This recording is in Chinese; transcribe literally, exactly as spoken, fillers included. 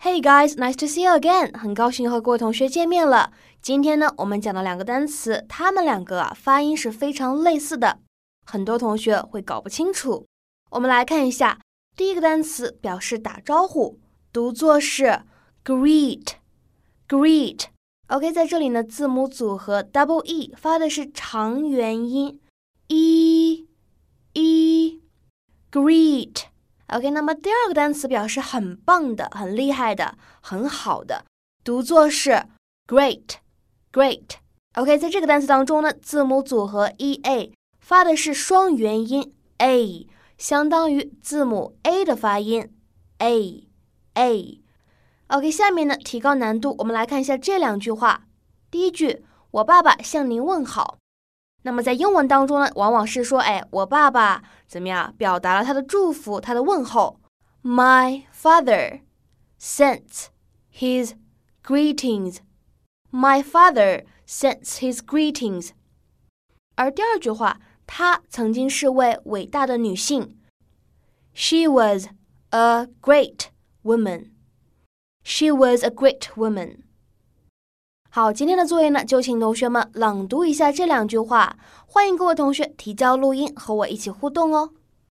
Hey guys, nice to see you again. 很高兴和各位同学见面了。今天呢，我们讲的两个单词，它们两个啊发音是非常类似的，很多同学会搞不清楚。我们来看一下，第一个单词表示打招呼，读作是 greet, greet。OK， 在这里呢，字母组合 double E 发的是长元音 e e greet。OK， 那么第二个单词表示很棒的、很厉害的、很好的，读作是 great, great。OK， 在这个单词当中呢，字母组合 E A 发的是双元音 A， 相当于字母 A 的发音 A A。OK， 下面呢，提高难度，我们来看一下这两句话。第一句，我爸爸向您问好。那么在英文当中呢，往往是说，哎，我爸爸怎么样，表达了他的祝福，他的问候。My father sends his greetings. My father sends his greetings. 而第二句话，她曾经是位伟大的女性。She was a great woman.She was a great woman. 好，今天的作业呢，就请同学们朗读一下这两句话，欢迎各位同学提交录音和我一起互动哦。